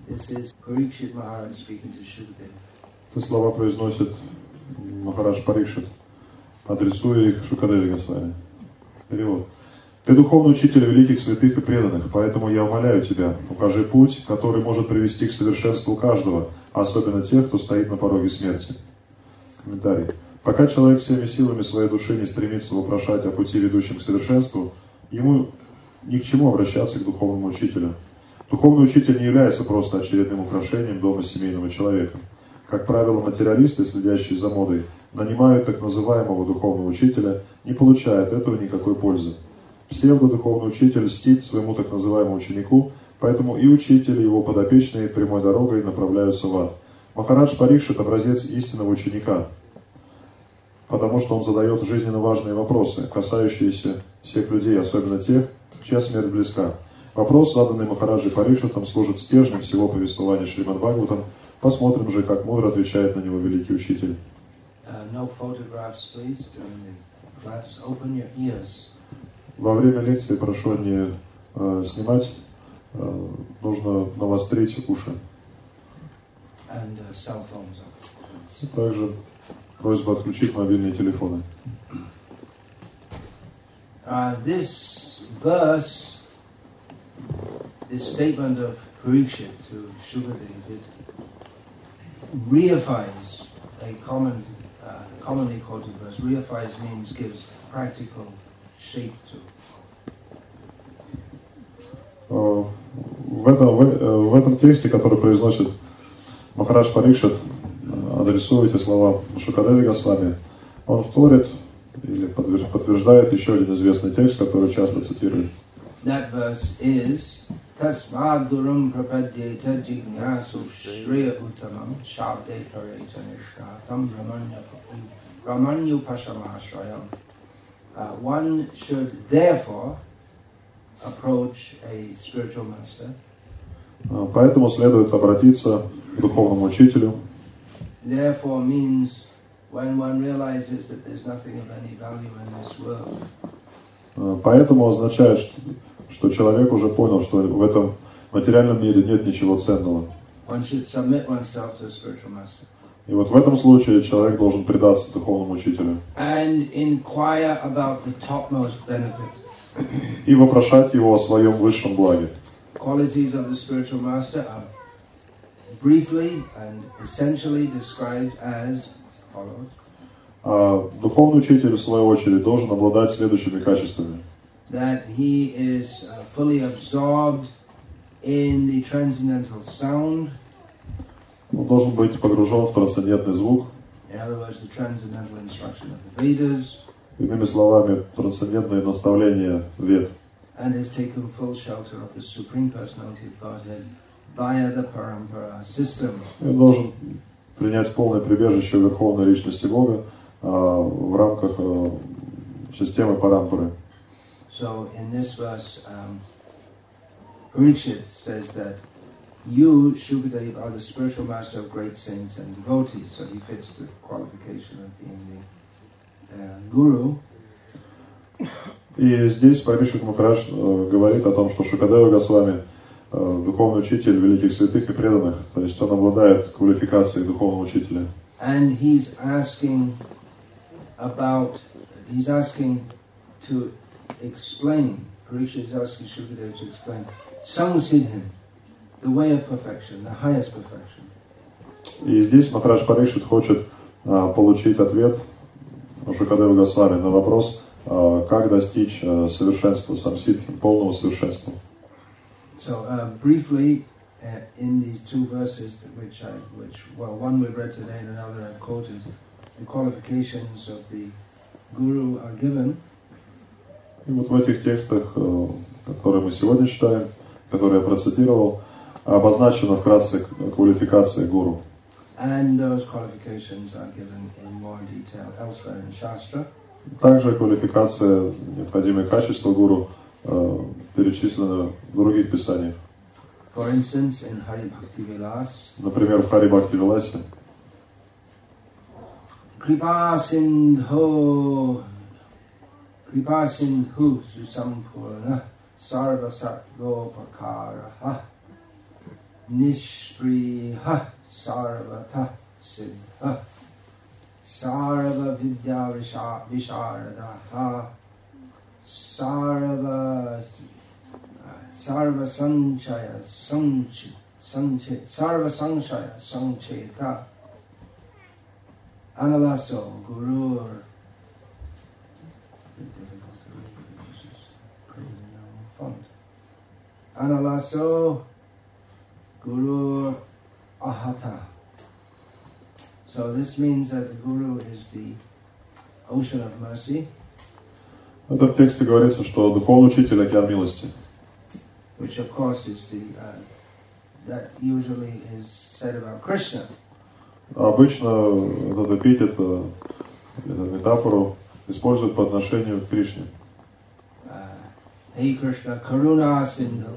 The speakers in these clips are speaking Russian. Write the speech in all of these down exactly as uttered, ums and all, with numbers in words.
This is Parikshit Maharaj speaking to Shukadeva. Эти слова произносит Махарадж Парикшит, адресуя их Шукадеве Госвами. Перевод. Ты духовный учитель великих святых и преданных, поэтому я умоляю тебя, укажи путь, который может привести к совершенству каждого, особенно тех, кто стоит на пороге смерти. Комментарий. Пока человек всеми силами своей души не стремится вопрошать о пути, ведущем к совершенству, ему ни к чему обращаться к духовному учителю. Духовный учитель не является просто очередным украшением дома семейного человека. Как правило, материалисты, следящие за модой, нанимают так называемого духовного учителя, не получая от этого никакой пользы. Псевдодуховный учитель льстит своему так называемому ученику, поэтому и учитель, и его подопечные прямой дорогой направляются в ад. Махарадж Парикшит – образец истинного ученика, потому что он задает жизненно важные вопросы, касающиеся всех людей, особенно тех, чья смерть близка. Вопрос, заданный Махараджи Парикшитом, служит стержнем всего повествования Шримад Бхагаватам. Посмотрим же, как мудро отвечает на него великий учитель. Во время лекции прошу не э, снимать, э, нужно навострить уши. And, uh, cell phones. И также просьба отключить мобильные телефоны. Uh, this verse, this statement of Parikshit to Shukadeva, it reifies a common, uh, commonly quoted verse. Reifies means gives practical shape to. Uh, в, этом, в, в этом тексте, который произносит Махарадж Парикшит, адресуя эти слова Шукадеве Госвами, он вторит или подтверждает еще один известный текст, который часто цитирует. That verse is Tasmad Gurum Prapadyeta Jignasu Shreya Uttamam Shabde Pareta Nishkatam Ramanyu Pashamashrayam. One should therefore approach a spiritual master. Поэтому следует обратиться к духовному учителю. Therefore means when one realizes that there's nothing of any value in this world. Поэтому означает, что человек уже понял, что в этом материальном мире нет ничего ценного. One should submit oneself to a spiritual master. И вот в этом случае человек должен предаться духовному учителю. And inquire about the topmost benefit. И вопрошать его о своем высшем благе. Qualities of the spiritual master are briefly and essentially described as follows. А духовный учитель, в свою очередь, должен обладать следующими качествами. That he is uh, fully absorbed in the transcendental sound. Он должен быть погружен в трансцендентный звук. In other words, the transcendental instruction of the Vedas. Иными словами, трансцендентные наставления Вед. And has taken full shelter of the Supreme Personality of Godhead via the Parampara system. Он должен принять полное прибежище в Верховной Личности Бога а, в рамках а, системы Парампары. So in this verse, um, Parikshit says that you, Shukadeva, are the spiritual master of great saints and devotees. So he fits the qualification of being the uh, guru. И здесь Парикшит Махарадж э, говорит о том, что Шукадева Госвами э, духовный учитель великих святых и преданных, то есть он обладает квалификацией духовного учителя. And he's asking about, he's asking to explain, Parikshit is asking Shukadeva to explain, Samsiddhim, the way of perfection, the highest perfection. И здесь Махарадж Парикшит хочет э, получить ответ у Шукадева Госвами на вопрос, как достичь совершенства самсидхи, полного совершенства. So uh, briefly, uh, in these two verses, which I, which well, one we've read today and another I've quoted, the qualifications of the guru are given. И вот в этих текстах, которые мы сегодня читаем, которые я процитировал, обозначена вкратце квалификация гуру. And those qualifications are given in more detail elsewhere in Shastra. Также квалификация, необходимые качества гуру э, перечислены в других писаниях. For instance, in Hari Bhakti Vilas, например, в Хари Бхакти Виласе. Kripa Sindhu Kripa Sindhu Susampurna Sarva Satgopakaraha Nishpriha Sarvata Siddha Sarva Vidya Visharadaha Sarva Sarva Sanchaya Sanchit Sanchit Sarva Sanchaya Sancheta Analaso Gurur Analaso Guru Ahata. So this means that the Guru is the ocean of mercy. В этом тексте говорится, что духовный учитель — океан милости. Which of course is the uh, that usually is said about Krishna. Обычно этот эпитет, эту метафору используют по отношению к Кришне. Hey Krishna, Karuna Sindhu,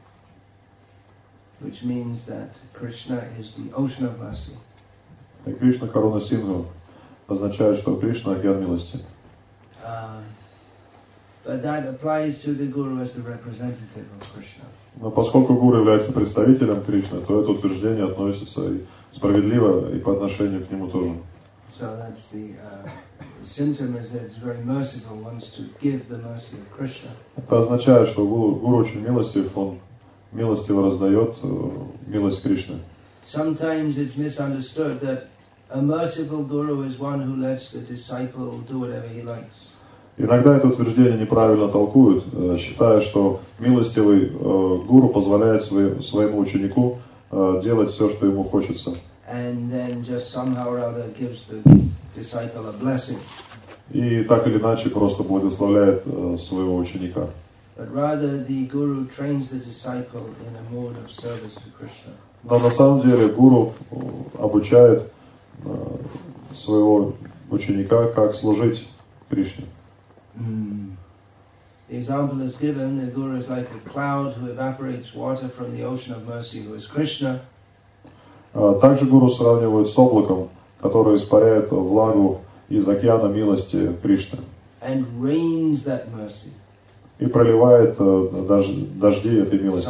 which means that Krishna is the ocean of mercy. И Кришна Каруна Синдху означает, что Кришна — океан милости. Uh, but that applies to the Guru as the representative of Krishna. Но поскольку Гуру является представителем Кришны, то это утверждение относится и справедливо и по отношению к нему тоже. So that's the uh, symptom is that it's very merciful, wants to give the mercy of Krishna. Это означает, что Гуру, Гуру очень милостив, он милостиво раздает милость Кришны. Sometimes it's misunderstood that a merciful Guru is one who lets the disciple do whatever he likes. Иногда это утверждение неправильно толкуют, считая, что милостивый гуру позволяет своему ученику делать все, что ему хочется. And then just somehow or other gives the disciple a blessing. И так или иначе просто благословляет своего ученика. But rather the Guru trains the disciple in a mode of service to Krishna. Но на самом деле гуру обучает своего ученика, как служить Кришне. Mm. The example is given, the Guru is like a cloud who evaporates water from the ocean of mercy, who is Krishna. Также гуру сравнивают с облаком, которое испаряет влагу из океана милости Кришны. And rains that mercy. И проливает дожди этой милости.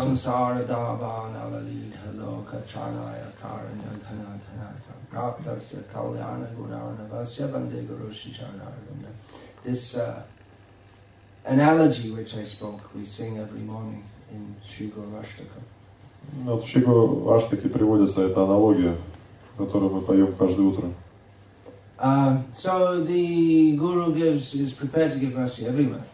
This uh, analogy which I spoke, we sing every morning in Shri Guru Ashtaka. Вот в Шри Гуру Аштаке приводится эта аналогия, которую мы поем каждое утро. Uh, so the Guru gives is prepared to give mercy everywhere.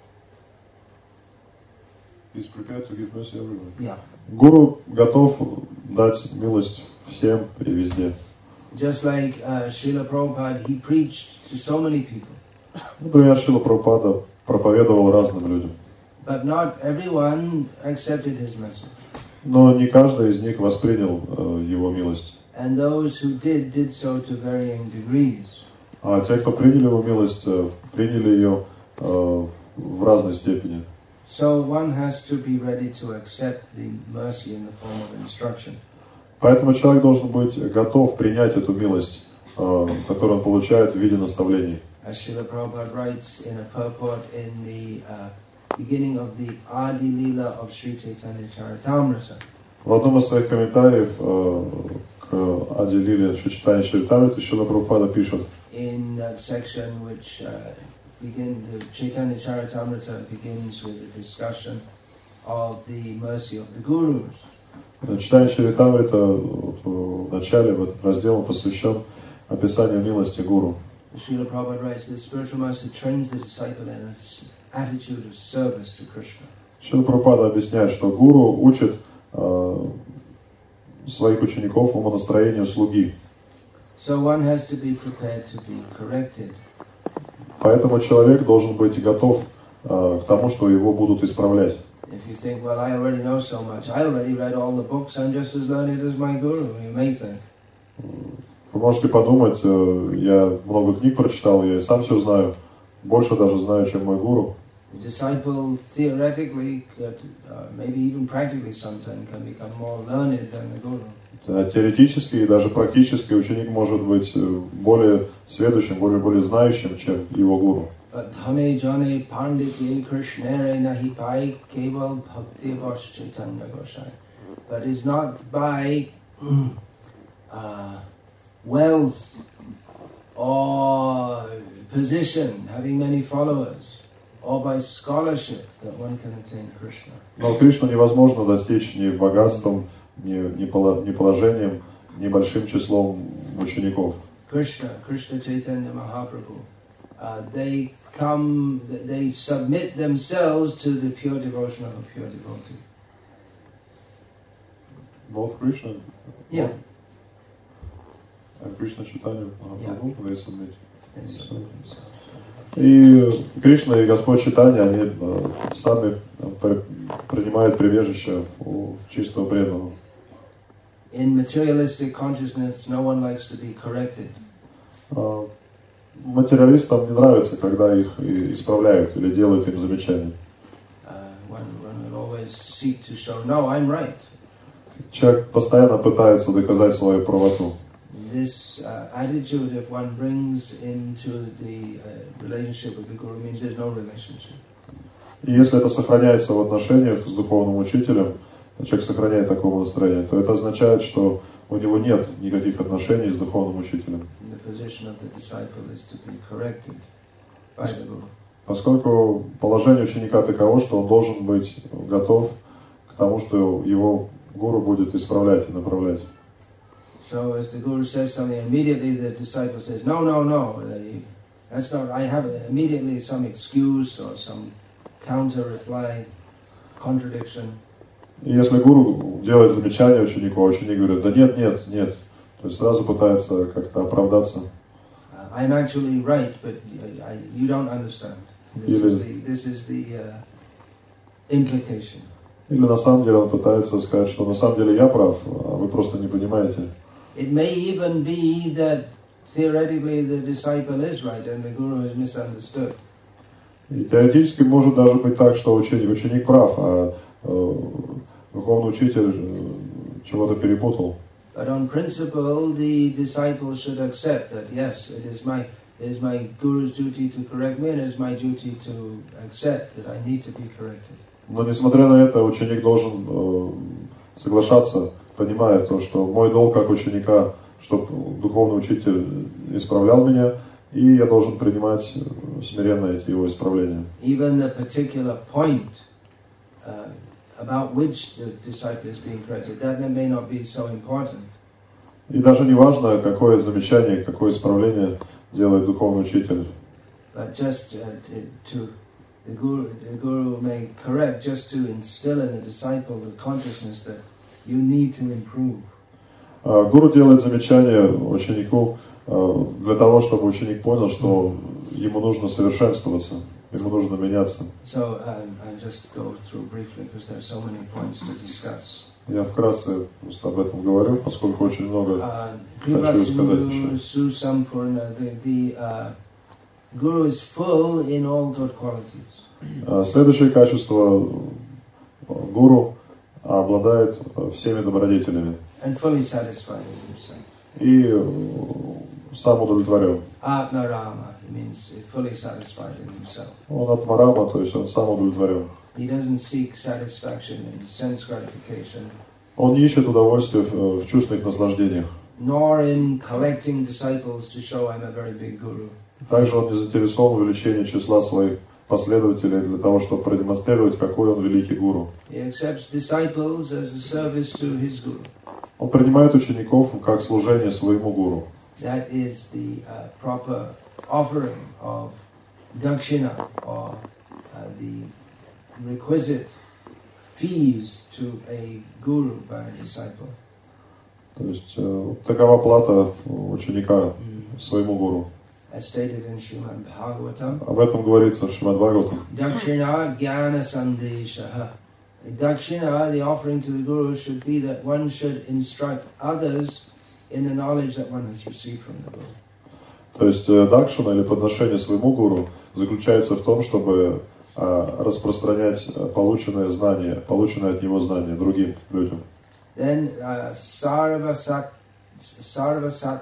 He's prepared to give mercy everywhere. Yeah. Гуру готов дать милость всем и везде. Just like uh, Srila Prabhupada, he preached to so many people. Например, Шрила Прабхупада проповедовал разным людям. But not everyone accepted his message. Но не каждый из них воспринял э, его милость. And those who did, did so to varying degrees. А те, кто приняли его милость, э, приняли ее э, в разной степени. So one has to be ready to accept the mercy in the form of instruction. Поэтому человек должен быть готов принять эту милость, э, которую он получает в виде наставлений. As Srila Prabhupada writes in a purport in the uh, beginning of the Adi Lila of Sri Chaitanya Charitamrita. В одном из своих комментариев э, к Ади Лиле Шри Чайтанья Чаритамриты Шрила Прабхупада пишет. In that section which uh, begin the Chaitanya Charitamrita begins with a discussion of the mercy of the gurus. Читание Чаритамрита в начале, в этот раздел, посвящен описанию милости гуру. Srila Prabhupada writes that spiritual master trains the disciple in an attitude of service to Krishna. Шрила Прабхупада объясняет, что гуру учит э, своих учеников умонастроению слуги. So one has to be prepared to be corrected. Поэтому человек должен быть готов э, к тому, что его будут исправлять. If you think, well, I already know so much, I already read all the books, I'm just as learned as my guru, you may think. Вы можете подумать, э, я много книг прочитал, я и сам все знаю, больше даже знаю, чем мой гуру. The disciple theoretically, could, uh, maybe even practically sometimes, can become more learned than the guru. Теоретически и даже практически ученик может быть более сведущим, более, более знающим, чем его гуру. but it's not by uh, wealth or position, having many followers, or by scholarship that one can attain Krishna. Но Кришну невозможно достичь ни богатством, ни, ни, поло, ни положением, ни большим числом учеников. Krishna, Krishna Chaitanya Mahaprabhu, uh, they come, they submit themselves to the pure devotion of a pure devotee. Both Krishna? Yeah. And Krishna Chaitanya Mahaprabhu, yeah. They submit. They submit themselves. И Кришна и Господь Чайтанья, они сами принимают прибежище у чистого преданного. In materialistic consciousness, no one likes to be corrected. Материалистам не нравится, когда их исправляют или делают им замечания. Uh, one, one will always seek to show, no, I'm right. Человек постоянно пытается доказать свою правоту. This uh, attitude, if one brings into the uh, relationship with the Guru, means there's no relationship. И если это сохраняется в отношениях с духовным учителем, человек сохраняет такое настроение, то это означает, что у него нет никаких отношений с духовным учителем. Поскольку положение ученика таково, что он должен быть готов к тому, что его гуру будет исправлять и направлять. So as the Guru says something, immediately the disciple says, no, no, no, that's not, I have immediately some excuse or some counter reply, contradiction. И если гуру делает замечание ученику, а ученик говорит, да нет, нет, нет, то есть сразу пытается как-то оправдаться. I'm actually right, but I, you don't understand. This is the, this is the uh, implication. Или на самом деле он пытается сказать, что на самом деле я прав, а вы просто не понимаете. It may even be that theoretically the disciple is right and the guru is misunderstood. И теоретически может даже быть так, что ученик, ученик прав, а э, духовный учитель чего-то перепутал. But on principle, the disciple should accept that yes, it is my it is my guru's duty to correct me, and it is my duty to accept that I need to be corrected. Но несмотря на это, ученик должен э, соглашаться, понимая то, что мой долг как ученика, чтобы духовный учитель исправлял меня, и я должен принимать смиренно эти его исправления. Even the particular point uh, about which the disciple is being corrected, that may not be so important. И даже не важно, какое замечание, какое исправление делает духовный учитель. But just uh, to the guru, the guru may correct just to instill in the disciple the consciousness that you need to improve. Гуру делает замечание ученику для того, чтобы ученик понял, что ему нужно совершенствоваться, ему нужно меняться. So um, I'll just go through briefly because there are so many points to discuss. Я вкратце просто об этом говорю, поскольку очень много uh, хочу сказать еще. Susampurna, the, the uh, guru is full in all good qualities. Следующее качество гуру обладает всеми добродетелями. And fully satisfied in himself. И сам удовлетворен. Atmarama means fully satisfied in himself. Он атмарама, то есть он сам удовлетворен. He doesn't seek satisfaction in sense gratification. Он не ищет удовольствия в, в чувственных наслаждениях. Nor in collecting disciples to show I'm a very big guru. Также он не заинтересован в увеличении числа своих последователей для того, чтобы продемонстрировать, какой он великий гуру. He accepts disciples as a service to his guru. Он принимает учеников как служение своему гуру. That is the uh, proper offering of dakshina, or uh, the requisite fees to a guru by a disciple. То есть э, такова плата ученика mm. своему гуру. As stated in Srimad Bhagavatam. Об этом говорится в Шримад Бхагаватам. Dakshina jnana sandeshaha. Dakshina, the offering to the guru, should be that one should instruct others in the knowledge that one has received from the guru. То есть дакшина или подношение своему гуру заключается в том, чтобы а, распространять полученное знание, полученное от него знание другим людям. Then uh, sarvasat sarvasat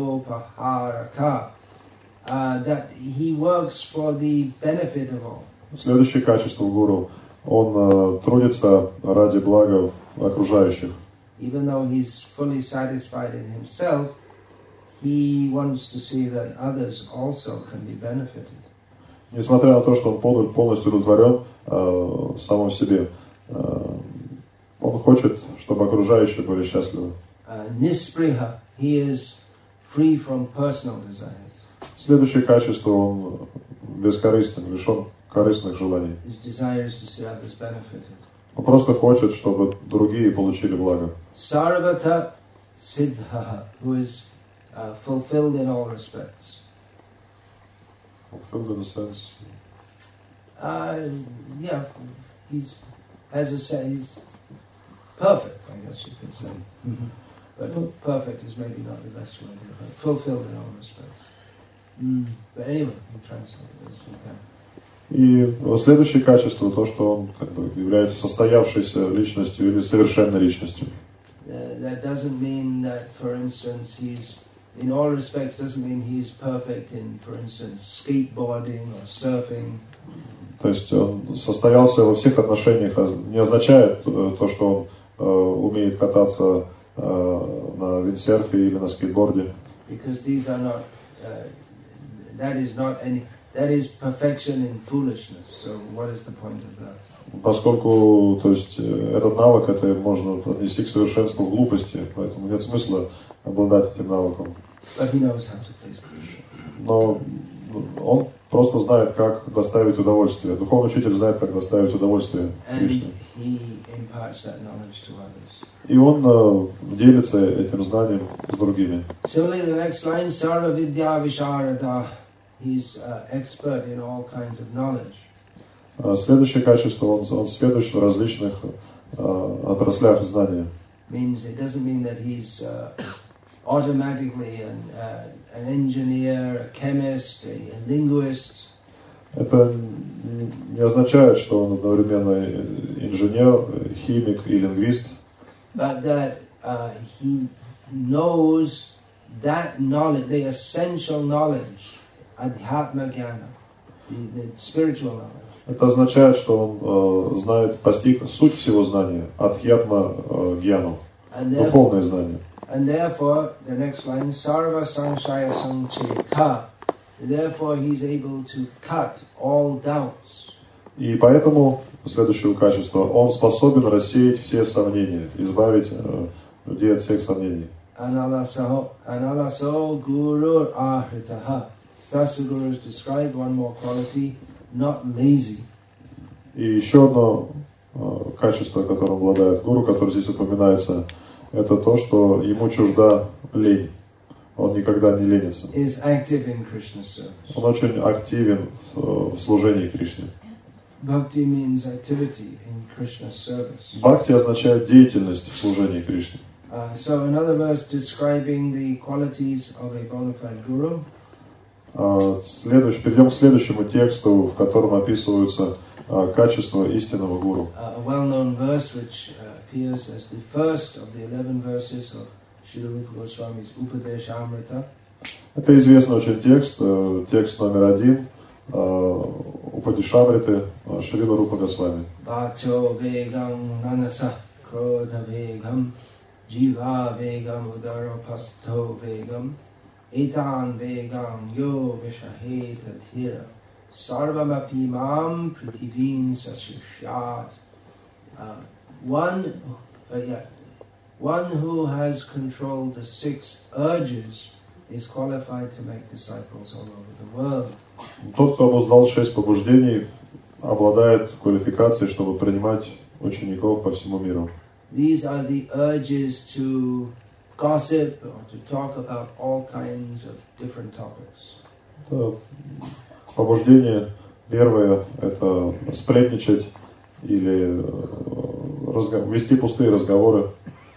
gopaharaka, uh, that he works for the benefit of all. Следующее качество гуру. Он uh, трудится ради блага окружающих. Even though he's fully satisfied in himself, he wants to see that others also can be benefited. Несмотря на то, что он полностью удовлетворен э, в самом себе, э, он хочет, чтобы окружающие были счастливы. Nispриха, he is free from personal desires. Следующее качество, он бескорыстен, лишен корыстных желаний. His desire is to see others benefited. Он просто хочет, чтобы другие получили благо. Sarvata Siddha, who is uh, fulfilled in all respects. Fulfilled in a sense. Uh, yeah, he's has a say. He's perfect, I guess you could say. Mm-hmm. But perfect is maybe not the best word. Right? Fulfilled in all respects. Mm. But anyway, you translate this. Okay. И следующее качество, то, что он как бы является состоявшейся личностью или совершенной личностью. Uh, that doesn't mean that, for instance, he's, in all respects, doesn't mean he's perfect in, for instance, skateboarding or surfing. То есть он состоялся во всех отношениях, не означает то, что он э, умеет кататься э, на виндсерфе или на скейтборде. Because these are not, uh, that is not any, that is perfection in foolishness. So what is the point of that? Поскольку, то есть, этот навык, это можно отнести к совершенству в глупости, поэтому нет смысла обладать этим навыком. But he knows how to please Krishna. Но он просто знает, как доставить удовольствие. Духовный учитель знает, как доставить удовольствие Кришне. И он э, делится этим знанием с другими. Similarly, the next line, Sarva Vidya Visharada. He's uh, expert in all kinds of knowledge. Следующее качество, он, он сведущ в различных э, отраслях знания. Means it doesn't mean that he's uh, automatically an, uh, an engineer, a chemist, a, a linguist. Это не означает, что он одновременно инженер, химик и лингвист. But that uh, he knows that knowledge, the essential knowledge, adhyatma jnana, the, the spiritual knowledge. Это означает, что он э, знает, постиг суть всего знания, адхьятма э, гьяну, духовное знание. And therefore, the next line, sarva sanshaya sancheta. Therefore, he's able to cut all doubts. И поэтому, следующее качество, он способен рассеять все сомнения, избавить э, людей от всех сомнений. Analaso, analaso guru ahritaha. Thus the Guru has described one more quality, not lazy. И еще одно э, качество, которым обладает гуру, которое здесь упоминается, это то, что ему чужда лень. Он никогда не ленится. Is active in Krishna's service. Он очень активен в, в служении Кришне. Bhakti means activity in Krishna's service. Бхакти означает деятельность в служении Кришне. Uh, so another verse describing the qualities of a bona fide guru. Uh, следующий, перейдем к следующему тексту, в котором описываются uh, качества истинного гуру. Uh, a well-known verse which uh, appears as the first of the eleven verses of Srila Rupa Goswami's Upadeshamrita. Это известный очень текст, uh, текст номер один uh, Упадешамриты uh, Шрила Рупа Госвами. Vacho vegam manasa krodha vegam jiva vegam udaropasto vegam etan vegam yo vishaheta dhira sarvamapi mam prithivim sashishyat. One, uh, yeah, one who has controlled the six urges is qualified to make disciples all over the world. Тот, кто обуздал шесть побуждений, обладает квалификацией, чтобы принимать учеников по всему миру. These are the urges to gossip or to talk about all kinds of different topics. Это побуждение первое – это сплетничать или разго- вести пустые разговоры.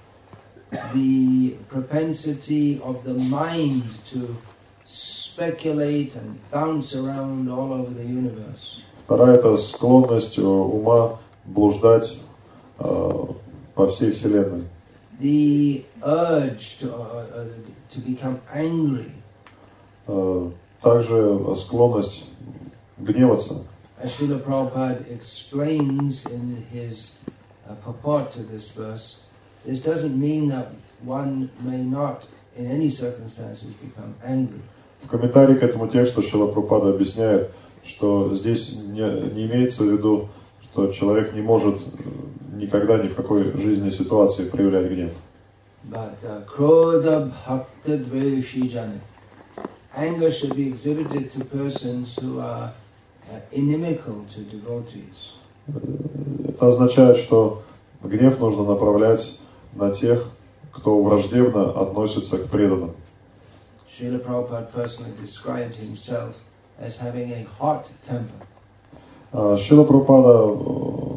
The propensity of the mind to speculate and bounce around all over the universe. Вторая – это склонность ума блуждать э, по всей вселенной. The urge to, uh, uh, to become angry. Э, также склонность гневаться. As Srila Prabhupada explains in his uh, a purport to this verse, this doesn't mean that one may not, in any circumstances, become angry. В комментарии к этому тексту Шрила Прабхупада объясняет, что здесь не, не имеется в виду, что человек не может никогда ни в какой жизненной ситуации проявлять гнев. But krodha bhakta dveshi jana. Anger should be exhibited to persons who are uh, inimical to devotees. Это означает, что гнев нужно направлять на тех, кто враждебно относится к преданным. Srila Prabhupada personally described himself as having a hot temper. Шрила Прабхупада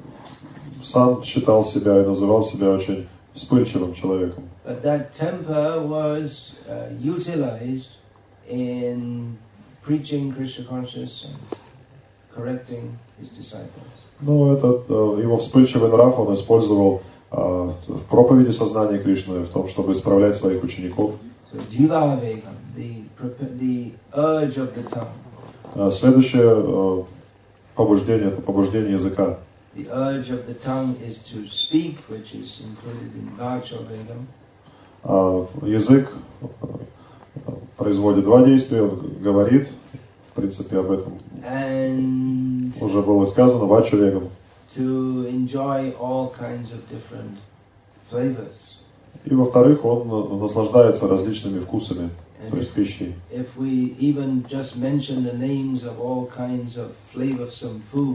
сам считал себя и называл себя очень вспыльчивым человеком. But that temper was uh, utilized in preaching Krishna consciousness and correcting his disciples. Ну, этот его вспыльчивый нрав он использовал в проповеди сознания Кришны, в том, чтобы исправлять своих учеников. So, jiva vegam, the the urge of the tongue. Следующее побуждение — это побуждение языка. The urge of the tongue is to speak, which is included in vacha vegam. Язык производит два действия, он говорит, в принципе, об этом And уже было сказано, вача вегам. To enjoy all kinds of different flavors. И во-вторых, он наслаждается различными вкусами, то есть пищей. If we even just mention the names of all kinds of flavorsome foods.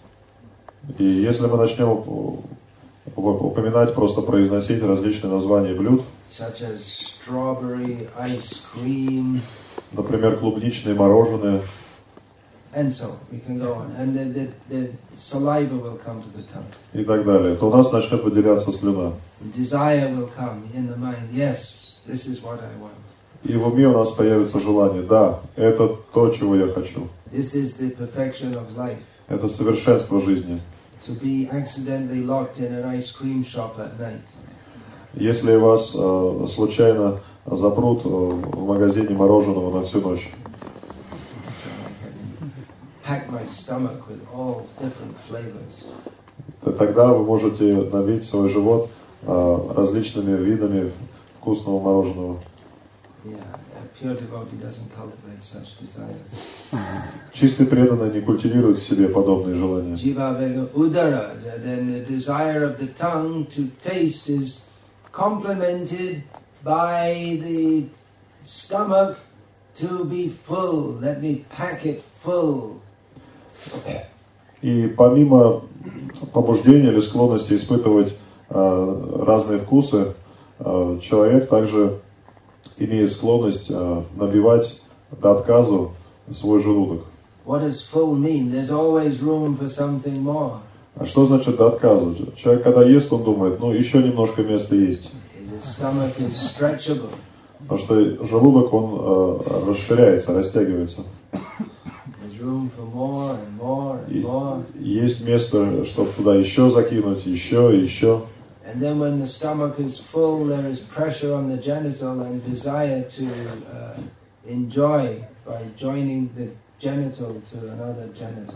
И если мы начнем упоминать, просто произносить различные названия блюд, such as strawberry ice cream, например, клубничные мороженое, and so we can go on, and the, the, the saliva will come to the tongue. И так далее, то у нас начнет выделяться слюна. Desire will come in the mind. Yes, this is what I want. И в уме у нас появится желание. Да, это то, чего я хочу. This is the perfection of life. Это совершенство жизни. To be accidentally locked in an ice cream shop at night. Если вас э, случайно запрут э, в магазине мороженого на всю ночь. Pack my stomach with all different flavors. То тогда вы можете набить свой живот э, различными видами вкусного мороженого. Yeah, a pure devotee doesn't cultivate such desires. Чистый преданный не культивирует в себе подобные желания. Jiva vega udara, then the desire of the tongue to taste is complemented by the stomach to be full. Let me pack it full. И помимо побуждения или склонности испытывать э, разные вкусы, э, человек также имеет склонность э, набивать до отказу свой желудок. What does full mean? There's always room for something more. А что значит до отказа? Человек, когда ест, он думает, ну, еще немножко места есть. The stomach is stretchable. Потому что желудок, он э, расширяется, растягивается. There's room for more and more and И more. есть место, чтобы туда еще закинуть, еще, еще. And then when the stomach is full, there is pressure on the genital and desire to uh, enjoy by joining the genital to another genital.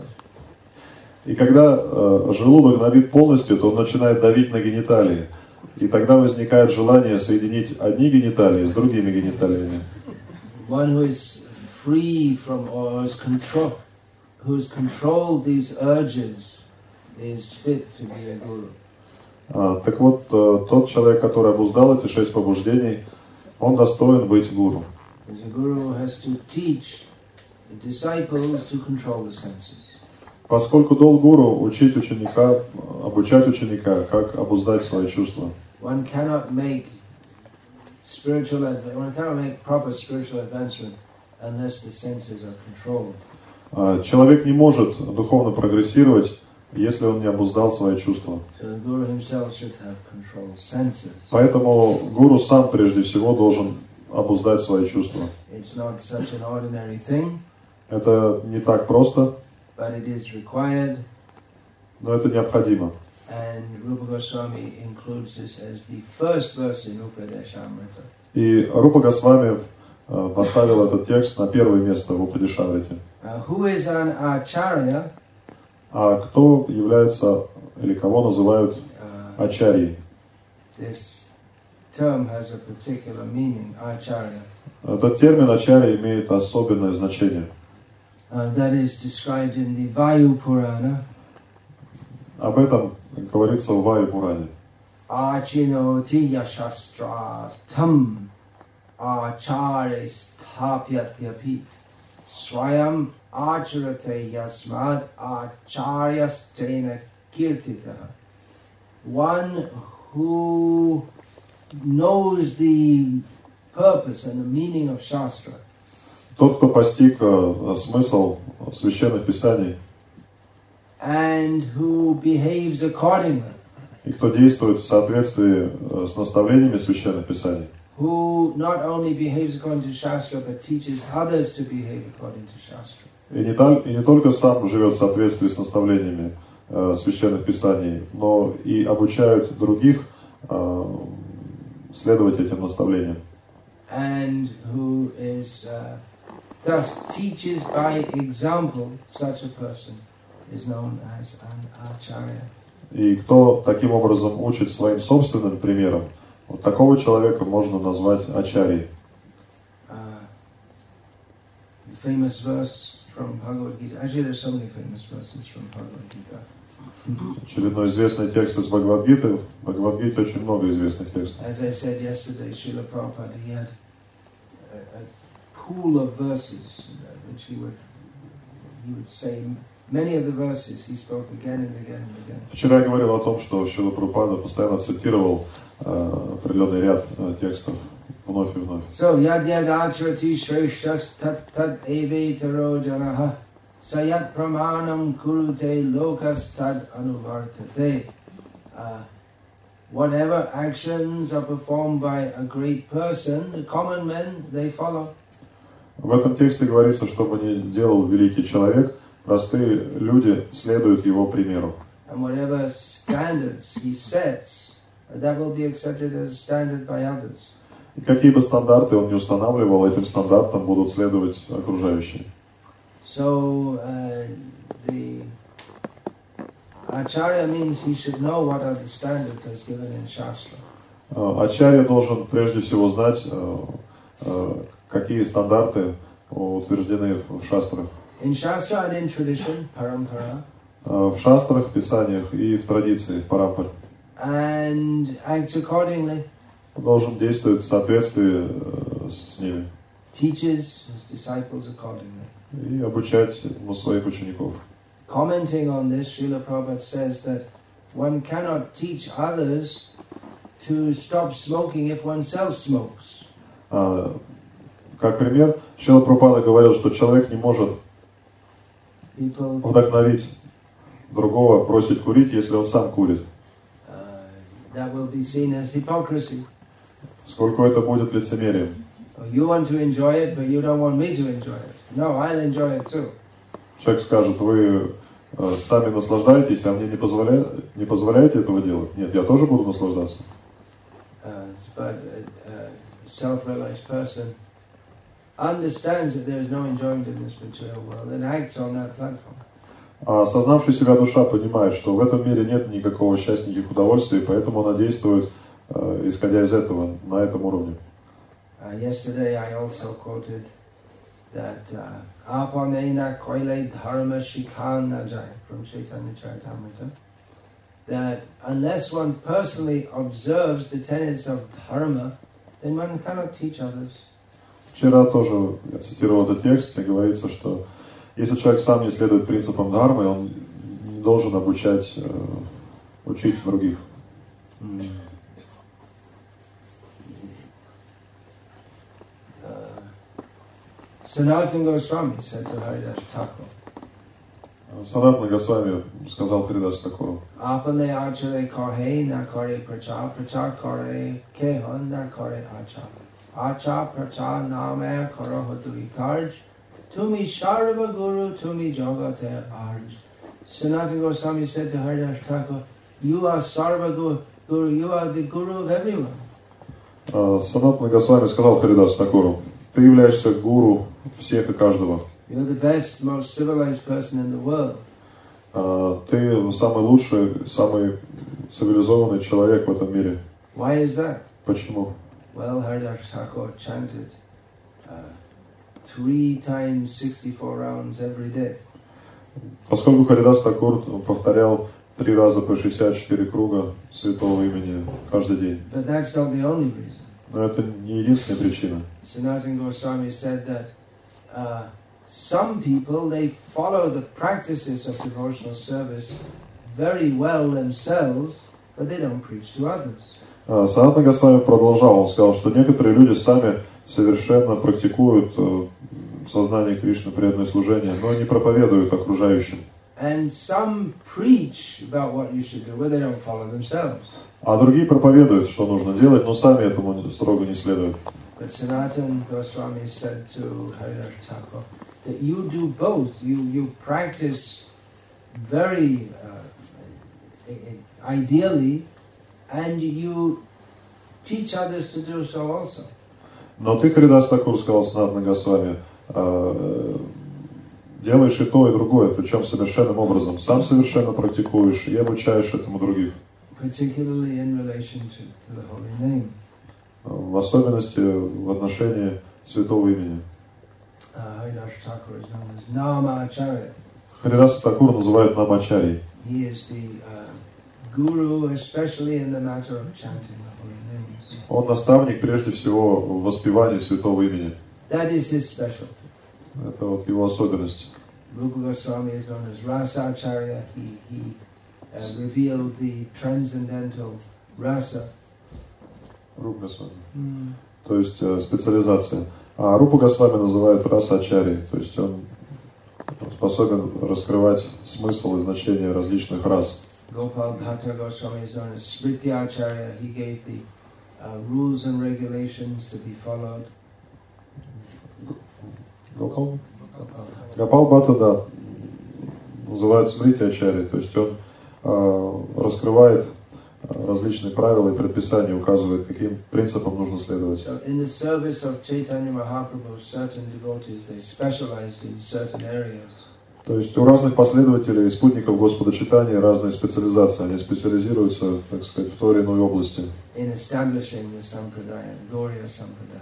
И когда э, желудок набит полностью, то он начинает давить на гениталии. И тогда возникает желание соединить одни гениталии с другими гениталиями. One who is free from or is control, who's controlled these urges, is fit to be a guru. А, так вот, э, тот человек, который обуздал эти шесть побуждений, он достоин быть гуру. Because a guru has to teach the disciples to control the senses. Поскольку долг гуру учить ученика, обучать ученика, как обуздать свои чувства. One cannot make spiritual adv- one cannot make proper spiritual advancement unless the senses are controlled. А, человек не может духовно прогрессировать, если он не обуздал свои чувства. So the guru himself should have controlled senses. Поэтому гуру сам прежде всего должен обуздать свои чувства. It's not such an ordinary thing, Это не так просто, but it is required. но это необходимо. And Rupa Goswami includes this as the first verse in Upadeshamrita. И Рупа Госвами э, поставил этот текст на первое место в Упадешамрите. Uh, who is an acharya? А кто является или кого называют ачарьей. This term has a particular meaning, acharya. Этот термин ачарья имеет особенное значение. Uh, that is described in the Vayu Purana. Об этом говорится в Ваю Пуране. Achinoti yashastra tam acharya sthapyatyapi swayam acharate yasmad acharyastena kirtitaha. One who knows the purpose and the meaning of Shastra. Тот, кто постиг uh, смысл священных писаний, and who behaves accordingly, и кто действует в соответствии uh, с наставлениями священных писаний, who not only behaves according to Shastra, but teaches others to behave according to Shastra. И не, та, и не только сам живет в соответствии с наставлениями uh, священных писаний, но и обучают других uh, следовать этим наставлениям. And who is uh, thus teaches by example, such a person is known as an acharya. И кто таким образом учит своим собственным примером, вот такого человека можно назвать ачарьей. Uh, the famous verse from Bhagavad Gita. Actually, there's so many famous verses from Bhagavad Gita. Очередной известный текст из Бхагавад-гиты. В Бхагавад-гите очень много известных текстов. As I said yesterday, Srila Prabhupada, he had a, a pool of verses uh, which he would he would say. Many of the verses he spoke again and again and again. Вчера я говорил о том, что Шрила Прабхупада постоянно цитировал uh, определенный ряд uh, текстов вновь и вновь. So yad yad acharati shreshtas tat tat evetaro janaha sayat pramanam kurute lokas tad anuvartate. Uh, whatever actions are performed by a great person, the common men, they follow. В этом тексте говорится, что бы ни делал великий человек, простые люди следуют его примеру. And whatever standards he sets, that will be accepted as standard by others. И какие бы стандарты он ни устанавливал, этим стандартам будут следовать окружающие. So uh, the acharya means he should know what are the standards as given in Shastra. Ачарья должен прежде всего знать, какие стандарты утверждены в шастрах. In Shastra and in tradition, parampara. В шастрах, в писаниях и в традиции, в парампаре. And acts accordingly. Он должен действовать в соответствии с ними. Teaches his disciples accordingly. И обучать ну, своих учеников. Commenting on this, Srila Prabhupada says that one cannot teach others to stop smoking if oneself smokes. А, как пример, Шрила Прабхупада говорил, что человек не может People, вдохновить другого бросить курить, если он сам курит. uh, that will be seen as hypocrisy. Сколько это будет лицемерием. You want to enjoy it, but you don't want me to enjoy it. No, I'll enjoy it too. Человек скажет, вы э, сами наслаждаетесь, а мне не позволяете, не позволяете этого делать? Нет, я тоже буду наслаждаться. Uh, but a, a self-realized person understands that there is no enjoyment in this material world and acts on that platform. А осознавший себя душа понимает, что в этом мире нет никакого счастья, никаких удовольствий, поэтому она действует, э, исходя из этого, на этом уровне. Uh, yesterday I also quoted that Apanena Koile Dharma Shikhan Najai from Chaitanya Charitamrita, that unless one personally observes the tenets of dharma, then one cannot teach others. Вчера тоже я цитировал этот текст, где говорится, что если человек сам не следует принципам дхармы, он не должен обучать, э, учить других. Mm. Sanatana Goswami said to Haridas Thakur, Санатана Госвами сказал Харидас Такуру: Apane achare kahe na kare pracha, pracha kare kehan na kare acha. Acha pracha name karo hoduri karj, tumi sharva guru, tumi jagate arj. Sanatana Goswami said to Haridas Thakur, you are sarva guru, you are the guru of everyone. Санатана Госвами сказал Харидас Такуру: ты являешься гуру всех и каждого. You're the best, most civilized person in the world. А, ты самый лучший, самый цивилизованный человек в этом мире. Why is that? Почему? Well, Haridas Thakur chanted uh, three times sixty-four rounds every day. Поскольку Харидас Такур повторял три раза по шестьдесят четыре круга святого имени каждый день. But that's not the only reason. Но это не единственная причина. Sanatana Goswami said that uh, some people, they follow the practices of devotional service very well themselves, but they don't preach to others. Санатана Госвами продолжал, он сказал, что некоторые люди сами совершенно практикуют сознание Кришны, преданное служение, но не проповедуют окружающим. And some preach about what you should do, but they don't follow themselves. А другие проповедуют, что нужно делать, но сами этому строго не следуют. But Sanatana Goswami said to Haridas Thakur that you do both. You you practice very uh, ideally, and you teach others to do so also. Но ты, Харидас Такур, сказал Санатана Госвами, делаешь и то, и другое, причем совершенным образом. Сам совершенно практикуешь и обучаешь этому других. Particularly in relation to, to the holy name. В особенности в отношении святого имени. Haridas Thakur is known as Namacharya. Харидас Такур называют Намачарьей. He is the uh, guru, especially in the matter of chanting the holy names. Он наставник прежде всего в воспевании святого имени. That is his specialty. Это вот его особенность. Rupa Goswami is known as Rasacharya. He, he uh, revealed the transcendental rasa. Рупа Госвами. Mm. То есть э, специализация. А Рупа Госвами называют Расачарьей. То есть он способен раскрывать смысл и значение различных рас. Gopal Bhatta Goswami is known as Smrityacharya. He gave the uh, rules and regulations to be followed. Гопал? Гопал Бхатта, да, называют Смрити-ачарьей, то есть он э, раскрывает различные правила и предписания, указывает, каким принципам нужно следовать. So in the service of Chaitanya Mahaprabhu, certain devotees, they specialized in certain areas. То есть у разных последователей и спутников Господа Чайтаньи разные специализации, они специализируются, так сказать, в той или иной области. In establishing the Sampradaya, Gauriya Sampradaya.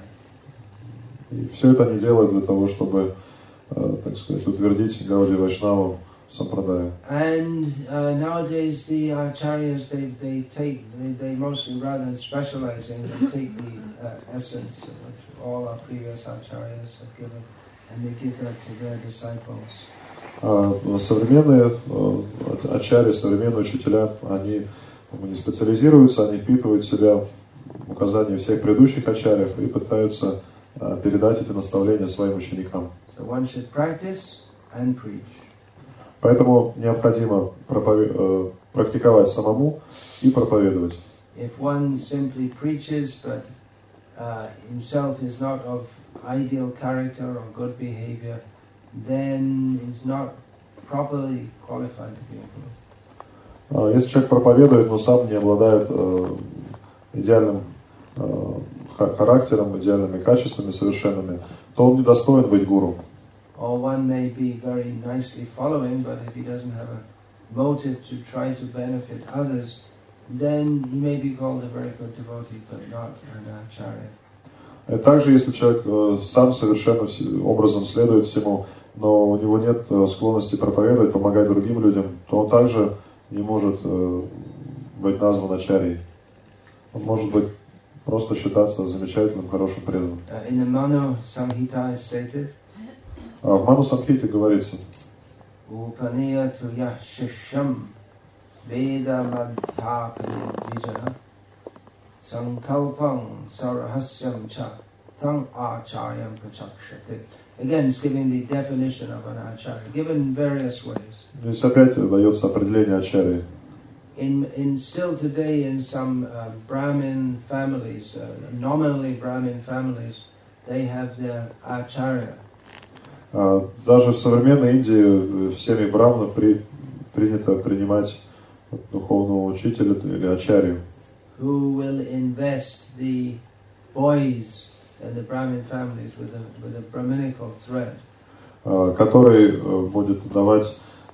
И все это они делают для того, чтобы, э, так сказать, утвердить Гаудия Вайшнаву Сампрадаю. And uh, nowadays the acharyas, they, they take, they, they mostly, rather than specializing, they take the uh, essence of which all our previous acharyas have given, and they give that to their disciples. А современные ачарьи, современные учителя, они не специализируются, они впитывают в себя указания всех предыдущих ачарьев и пытаются передать эти наставления своим ученикам. So one should practice and preach. Поэтому необходимо проповед... практиковать самому и проповедовать. If one simply preaches, but uh, himself is not of ideal character or good behavior, then is not properly qualified to be a guru. Если человек проповедует, но сам не обладает э, идеальным э, характером, идеальными качествами совершенными, то он недостоин быть гуру. Or one may be very nicely following, but if he doesn't have a motive to try to benefit others, then he may be called a very good devotee, but not an acharya. И также, если человек э, сам совершенно образом следует всему, но у него нет э, склонности проповедовать, помогать другим людям, то он также не может э, быть назван ачарьей. Он может быть просто считаться замечательным, хорошим преданным. Uh, in the Manu Samhita is stated, А в Ману Самхите говорится: Upaniyatu yashisham veda madhapani vijaha sankalpam sarahasyam cha tang acharyam prachakshate. Again, it's giving the definition of an acharya, given in various ways. Здесь опять дается определение ачарьи. In, in still today, in some uh, Brahmin families, uh, nominally Brahmin families, they have their acharya. Даже в современной Индии в семье браманов при, принято принимать духовного учителя или ачарью. Who will invest the boys in the Brahmin families with a with a Brahminical thread. Который будет давать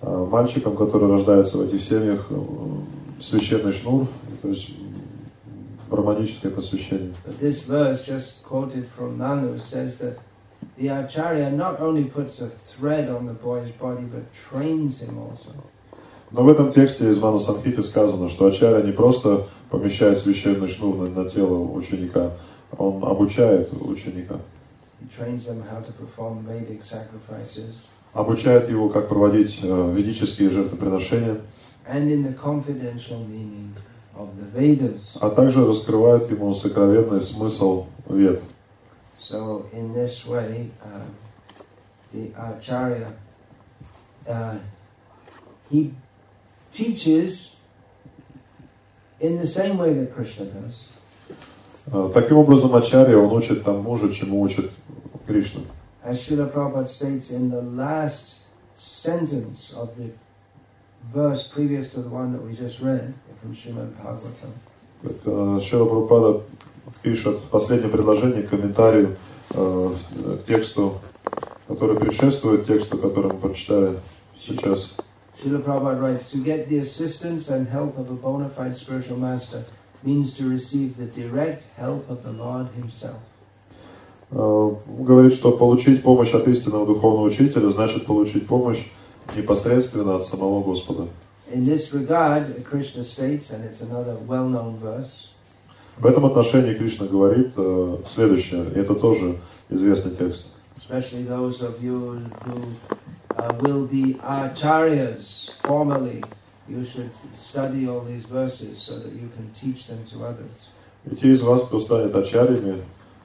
Мальчикам, которые рождаются в этих семьях, священный шнур, то есть браманическое посвящение. But this verse just quoted from Nanu says that the Acharya not only puts a thread on the boy's body, but trains him also. Но в этом тексте из Мана Самхиты сказано, что Ачарья не просто помещает священный шнур на, на тело ученика, он обучает ученика. He trains them how to perform Vedic sacrifices. Обучает его, как проводить э, ведические жертвоприношения. And in the confidential meaning of the Vedas. А также раскрывает ему сокровенный смысл Вед. So in this way, uh, the Acharya, uh, he teaches in the same way that Krishna does. Таким образом, Ачарья, он учит тому же, чему учит Кришна. As Srila Prabhupada states in the last sentence of the verse previous to the one that we just read from Srimad Bhagavatam. Шрила Прабхупада пишет в последнем предложении комментарию э, к тексту, который предшествует тексту, который мы прочитали сейчас. Srila Prabhupada writes, to get the assistance and help of a bona fide spiritual master means to receive the direct help of the Lord Himself. Uh, говорит, что получить помощь от истинного духовного учителя значит получить помощь непосредственно от самого Господа. In this regard, Krishna states, and it's another well-known verse. В этом отношении Кришна говорит uh, следующее, и это тоже известный текст. Especially those of you who uh, will be acharyas formally, you should study all these verses so that you can teach them to others. И те из вас, кто станет ачарьями,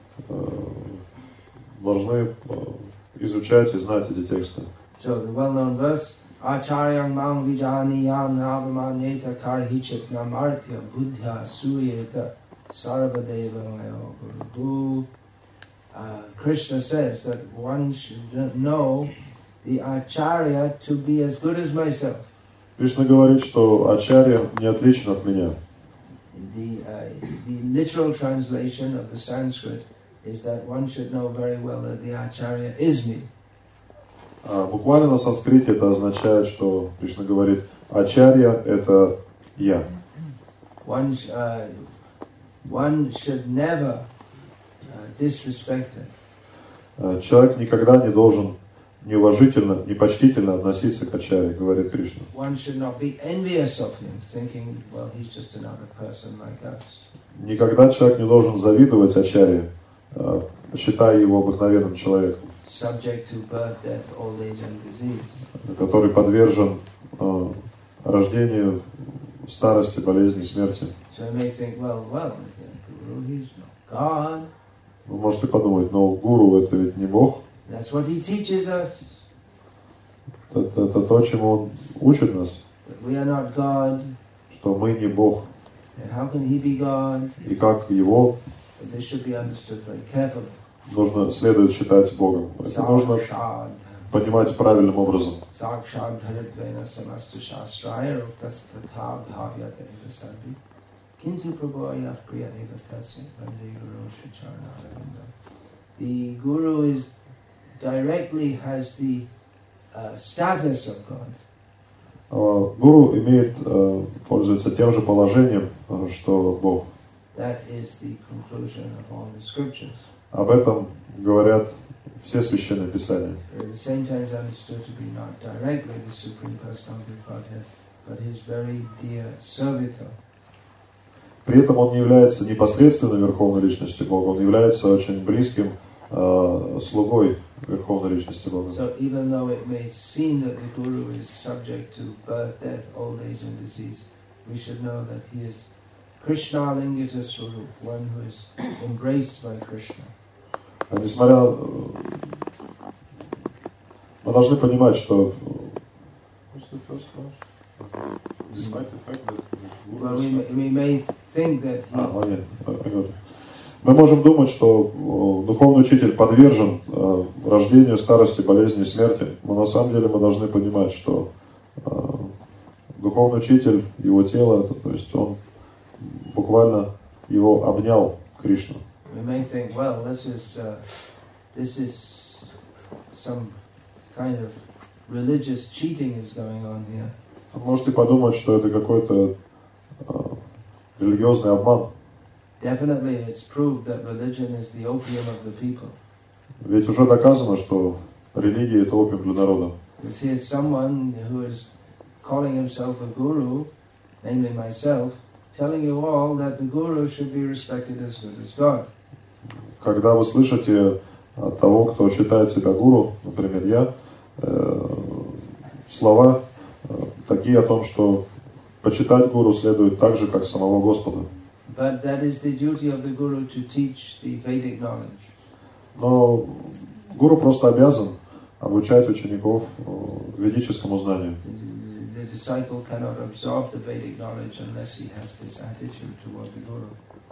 должны изучать и знать эти тексты. So the well-known verse, Acharyam mang vijaniyam navamanyeta karhichit namartya buddha suyeta sarvadeva mayo guru. Krishna says that one should know the Acharya to be as good as myself. Кришна говорит, что Ачарья не отличен от меня. The, uh, the literal translation of the Sanskrit is that one should know very well that the Acharya is me. А буквально на санскрите это означает, что Кришна говорит, Ачарья — это я. One, uh, one should never uh, disrespect it. Человек никогда не должен неуважительно, непочтительно относиться к Ачарье, говорит Кришна. One should not be envious of him, thinking, well, he's just another person like us. Никогда человек не должен завидовать Ачарье, считая его обыкновенным человеком, subject to birth, death, old age and disease. Который подвержен э, рождению, старости, болезни, смерти. So you may think, well, well, Guru, he's not God. Вы можете подумать, но гуру это ведь не Бог. That's what he teaches us. Это, это то, чему он учит нас. But we are not God. Что мы не Бог. And how can he be God? И как его But this should be understood very carefully. Нужно, следует считать Богом. Это нужно понимать правильным образом. The Guru is directly has the uh, status of God. Гуру имеет, пользуется тем же положением, что Бог. That is the conclusion of all the scriptures. Об этом говорят все священные писания. At the same time, is understood to be not directly the Supreme Personality of Godhead, but His very dear servitor. При этом он не является непосредственно Верховной Личностью Бога, он является очень близким э, слугой Верховной Личности Бога. So even though it may seem that the Guru is subject to birth, death, old age, and disease, we should know that he is Krishna Lingita Swarup, one who is embraced by Krishna. А несмотря, мы должны понимать, что well, we, we may think that he... а, нет, мы можем думать, что духовный учитель подвержен э, рождению, старости, болезни, смерти, но на самом деле мы должны понимать, что э, духовный учитель, его тело, это, то есть он буквально его обнял Кришну. We may think, well, this is uh, this is some kind of religious cheating is going on here. Можете подумать, что это какой-то uh, религиозный обман. Definitely, it's proved that religion is the opium of the people. Ведь уже доказано, что религия это опиум для народа. Because here's someone who is calling himself a guru, namely myself, telling you all that the guru should be respected as good as God. Когда вы слышите от того, кто считает себя гуру, например, я, э, слова э, такие о том, что почитать гуру следует так же, как самого Господа. But that is the duty of the guru to teach the Vedic knowledge. Но гуру просто обязан обучать учеников ведическому знанию. The disciple cannot absorb the Vedic knowledge unless he has this attitude toward the guru.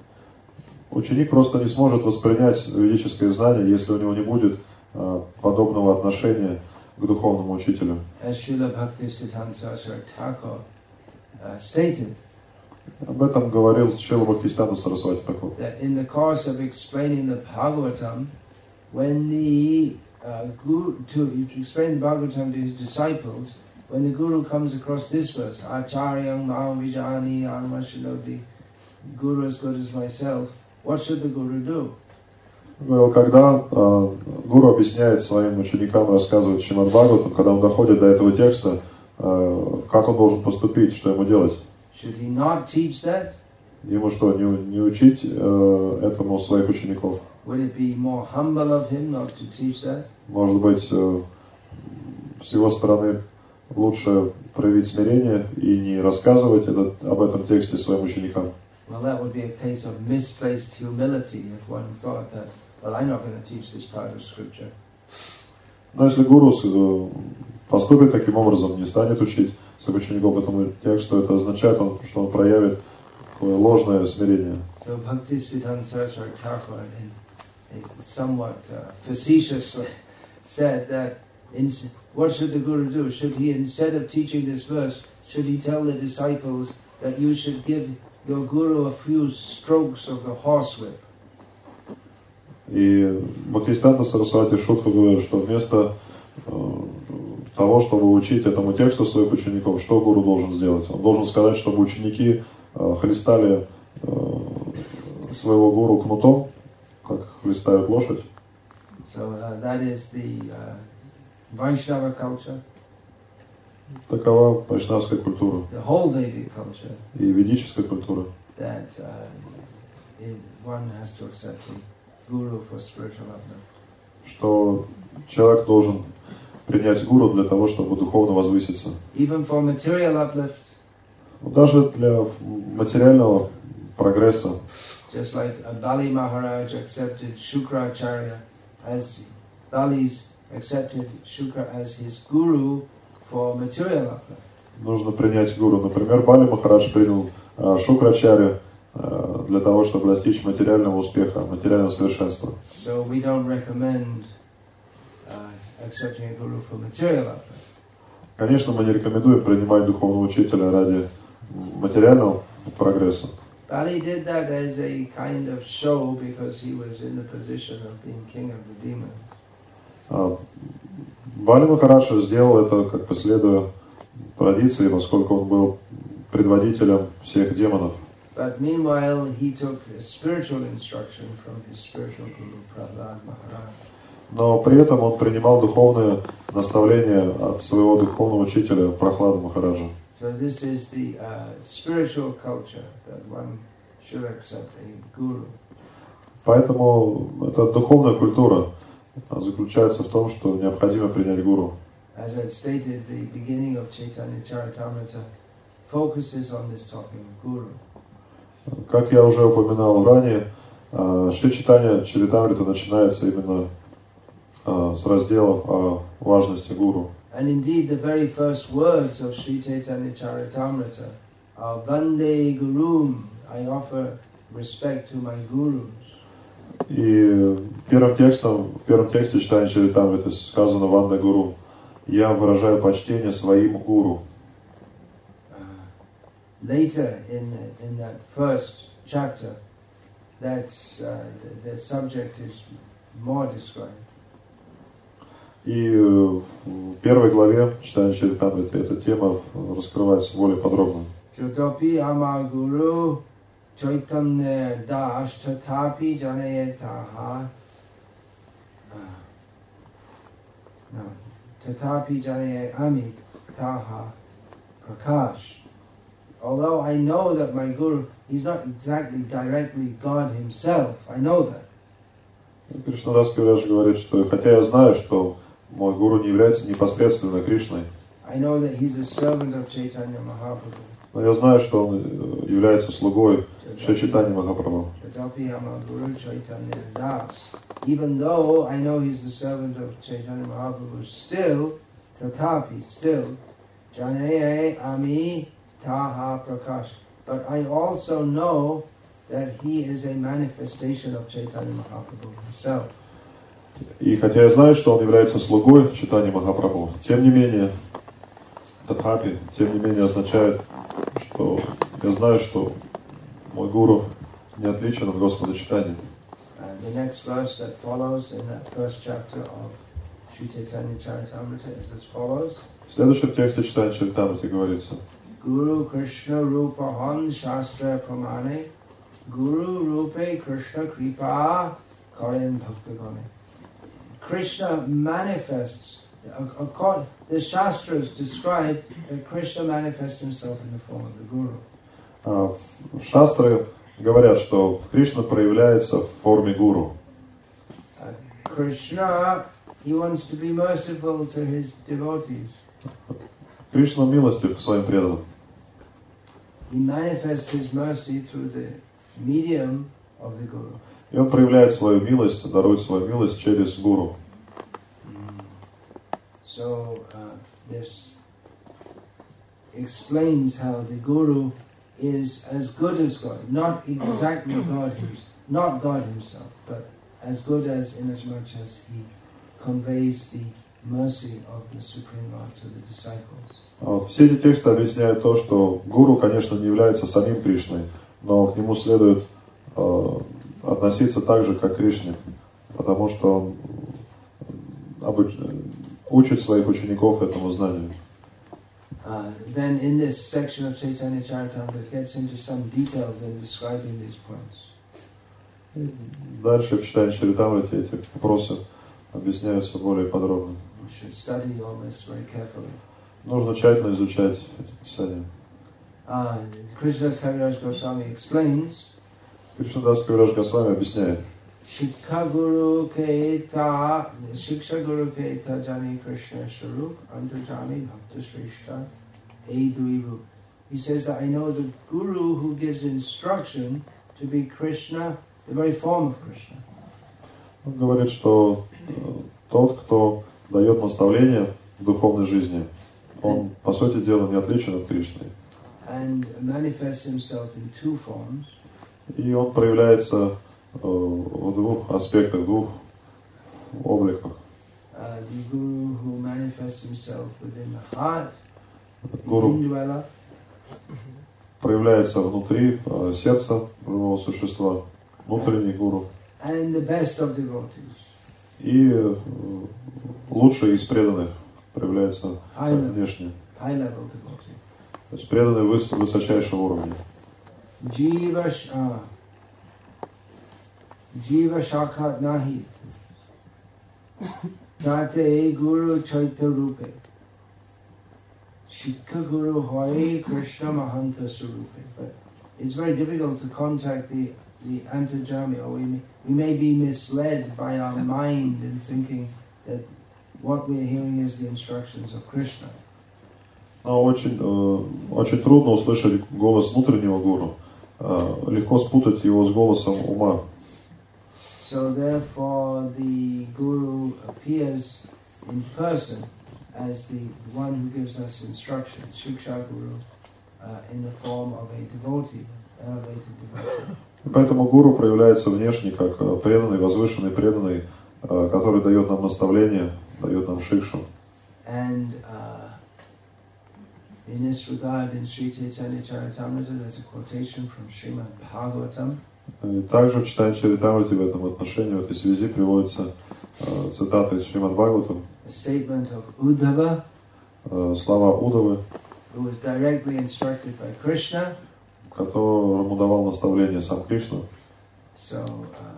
Ученик просто не сможет воспринять ведическое знание, если у него не будет uh, подобного отношения к духовному учителю. As Srila Bhaktisiddhanta Saraswati Thakur uh, stated, об этом говорил Шрила Бхактисиданта Сарасвати Тхакур. That in the course of explaining the Bhagavatam, when the uh, guru to, to explain the Bhagavatam to his disciples, when the guru comes across this verse, Acharyam Mam Vijani Anmashinoti, Guru as good as myself, what should the guru do? Говорил, когда э, гуру объясняет своим ученикам, рассказывает Шримад Бхагаватам, когда он доходит до этого текста, э, как он должен поступить, что ему делать? Should he not teach that? Ему что, не, не учить э, этому своих учеников? Would it be more humble of him not to teach that? Может быть, э, с его стороны лучше проявить смирение и не рассказывать этот, об этом тексте своим ученикам? Well, that would be a case of misplaced humility if one thought that, well, I'm not going to teach this part of scripture. Но если гуру поступит таким образом, не станет учить своих учеников этому тексту, это означает, что он проявит такое ложное смирение. So Bhaktisiddhanta Saraswati Thakur, in, in somewhat uh, facetiously said that in, what should the guru do? Should he, instead of teaching this verse, should he tell the disciples that you should give your guru a few strokes of the horsewhip? И Бхактисиданта Сарасвати шутку говорит, что вместо э, того, чтобы учить этому тексту своих учеников, что гуру должен сделать? Он должен сказать, чтобы ученики э, хлестали э, своего гуру кнутом, как хлестают лошадь. So uh, that is the uh, Vaishnava culture. Такова вайшнавская культура. The whole Vedic culture. И ведическая культура. That uh, it, one has to accept the guru for spiritual uplift. Что человек должен принять гуру для того, чтобы духовно возвыситься. Even for material uplift. Даже для материального прогресса. Just like Bali Maharaj accepted Shukracharya as Bali's accepted Shukra as his guru for material uplift. Нужно принять гуру. Например, Бали Махарадж принял uh, Шукрачарю uh, для того, чтобы достичь материального успеха, материального совершенства. So we don't recommend uh, accepting a guru for material uplift. Конечно, мы не рекомендуем принимать духовного учителя ради материального прогресса. Bali did that as a kind of show because he was in the position of being king of the demons. Uh, Бали Махарадж сделал это, как последуя традиции, поскольку он был предводителем всех демонов. But meanwhile, he took spiritual instruction from his spiritual guru, Prahlad Maharaj. Но при этом он принимал духовные наставления от своего духовного учителя Прахлада Махараджа. So this is the uh, spiritual culture that one should accept a guru. Поэтому эта духовная культура заключается в том, что необходимо принять гуру. As I stated, the beginning of Chaitanya Charitamrita focuses on this topic of guru. Как я уже упоминал ранее, Шри Чайтанья Чаритамрита начинается именно с разделов о важности гуру. And indeed, the very first words of Sri Chaitanya Charitamrita are Vande Gurum. I offer respect to my gurus. И первым текстом, в первом тексте Чайтанья Чаритамриты сказано Ванде Гуру. Я выражаю почтение своим гуру. Uh, later in the, in that first chapter, that's uh, the, the subject is more described. И в первой главе читания Чаритамриты эта тема раскрывается более подробно. Chotopi ama guru Chaitanya das tatapi janayataha. No, tatapi janayami taha prakash. Although I know that my guru, he's not exactly directly God himself, I know that. Кришнадас Кавираж говорит, что хотя я знаю, что мой гуру не является непосредственно Кришной, I know that he's a servant of Chaitanya Mahaprabhu. но я знаю, что он является слугой Шри Чайтаньи Махапрабху. Tatapi ama guru Chaitanya das. Even though I know he's the servant of Chaitanya Mahaprabhu, still, tatapi, still, janaya ami taha prakash. But I also know that he is a manifestation of Chaitanya Mahaprabhu himself. И хотя я знаю, что он является слугой Чайтаньи Махапрабху, тем не менее, татхапи, тем не менее означает, что я знаю, что мой гуру не отличен от Господа Чайтаньи. And the next verse that follows in that first chapter of Sri Chaitanya Charitamrita is as follows. В следующем тексте читания Чаритамриты говорится: Guru Krishna Rupa Han Shastra Pramane Guru Rupe Krishna Kripa Karen Bhaktagone. Krishna manifests, the Shastras describe that Krishna manifests himself in the form of the Guru. Шастры говорят, что Кришна проявляется в форме гуру. Krishna, he wants to be merciful to his devotees. Кришна милостив к своим преданным. He manifests his mercy through the medium of the Guru. И он проявляет свою милость, дарует свою милость через гуру. So uh, this explains how the Guru is as good as God, not exactly God himself, not God himself, but as good as in as much as he conveys the mercy of the Supreme Lord to the disciples. Вот. Все эти тексты объясняют то, что гуру, конечно, не является самим Кришной, но к нему следует э, относиться так же, как к Кришне, потому что он обуч... учит своих учеников этому знанию. Uh, then in this section of Chaitanya Charitamrita it gets into some details in describing these points. Дальше в читании Чаритамрити эти вопросы объясняются более подробно. We should study all this very carefully. Нужно тщательно изучать эти писания. Uh, Krishnadas Kaviraj Goswami explains, Кришнадас Кавираж Госвами объясняет: Shiksha Guru Keta, Shiksha Guru Keta Jani Krishna Swarup, Antarjami Bhakta Shrishta, Edui Rup. He says that I know the Guru who gives instruction to be Krishna, the very form of Krishna. Он говорит, что тот, кто дает наставление в духовной жизни, он, по сути дела, не отличен от Кришны. And manifests himself in two forms. И он проявляется в двух аспектах, в двух обликах. Uh, the Guru who manifests himself within the heart, Гуру the indwella, проявляется внутри сердца живого существа, внутренний гуру. and the best of devotees. И лучший из преданных проявляется внешне. High level devotee. То есть преданный выс высочайшего уровня. Jiva uh, Jiva Shakhat Nahit Tate Guru Chaita Rupe Shikha Guru Hoy Krishna Mahanta Surupe. But it's very difficult to contact the, the Antarjami, or we may, we may be misled by our mind in thinking that what we're hearing is the instructions of Krishna. Но очень, очень трудно услышать голос внутреннего гуру. Легко спутать его с голосом ума. So therefore the Guru appears in person as the one who gives us instruction, Shiksha Guru, uh, in the form of a devotee, elevated devotee. Поэтому гуру проявляется внешне как преданный, возвышенный преданный, который дает нам наставление, дает нам шикшу. And uh, in this regard, in Sri Chaitanya Charitamrita, there's a quotation from Srimad Bhagavatam. И также в читании Чаритамрити в этом отношении, в этой связи приводится цитата из Шримад Бхагаватам, a statement of Uddhava, слова Удавы, who was directly instructed by Krishna. которому давал наставление сам Кришна. So, uh,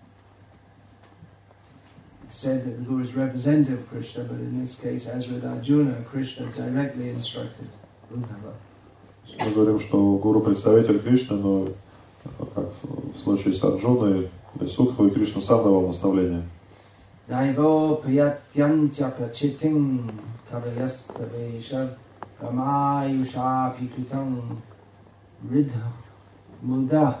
it said that the Guru is representative of Krishna, but in this case, as with Arjuna, Krishna directly instructed Uddhava. Мы говорим, что Гуру представитель Кришны, но как в случае с Арджуной или Судхой, Кришна сам давал наставление. Naivo prayatyantya prachitim kavayastave kamayusha pikritam ridha muda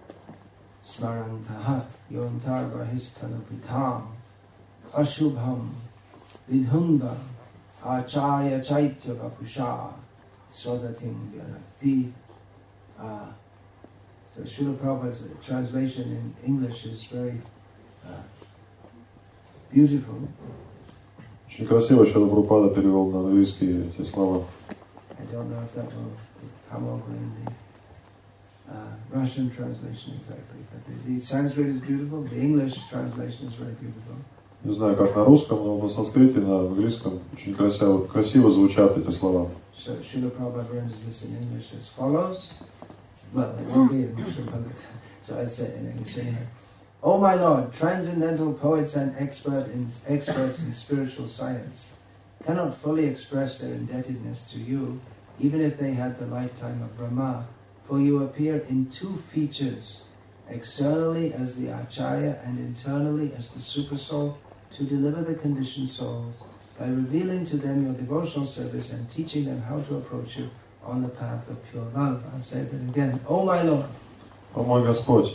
smarantaha yontar vahistana pitam ashubham vidhunga acharya chaitya vapusha sodatim vyanakti. Uh, so Srila Prabhupada's translation in English is very uh, beautiful. Очень красиво Шрила Прабхупада перевел на английский эти слова. I don't know if that will come over in the uh, Russian translation exactly, but the, the Sanskrit is beautiful. The English translation is very beautiful. Не знаю, как на русском, но на санскрите, на английском очень красиво, красиво звучат эти слова. So Srila Prabhupada renders this in English as follows. Well, it won't be in Russian, but so I'll say it in English anyway. O my Lord, transcendental poets and expert in, experts in spiritual science cannot fully express their indebtedness to you, even if they had the lifetime of Brahma, for you appear in two features, externally as the Acharya and internally as the Supersoul, to deliver the conditioned souls by revealing to them your devotional service and teaching them how to approach you on the path of pure love. I'll say that again. O my Lord, О мой Господь,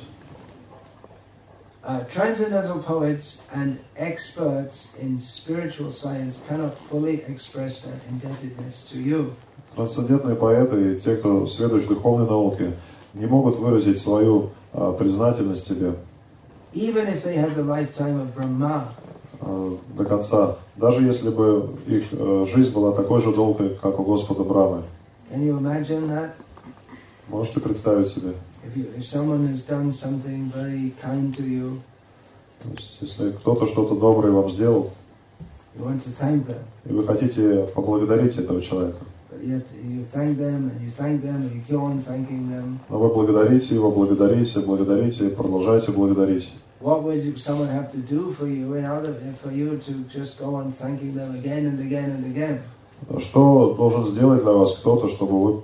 Uh, transcendental poets and experts in spiritual science cannot fully express their indebtedness to you. трансцендентные поэты и те, кто сведущ в духовной науке, не могут выразить свою а, признательность тебе Even if they had the lifetime of Brahma, а, до конца, даже если бы их а, жизнь была такой же долгой, как у Господа Брамы. can you imagine that? Можете представить себе? If, you, if someone has done something very kind to you, То есть, если кто-то что-то доброе вам сделал, you want to thank them, и вы хотите поблагодарить этого человека, but yet you thank them and you thank them and you go on thanking them. но вы благодарите его, благодарите, благодарите, продолжайте благодарить. What would you, someone have to do for you in order for you to just go on thanking them again and again and again? Что должен сделать для вас кто-то, чтобы вы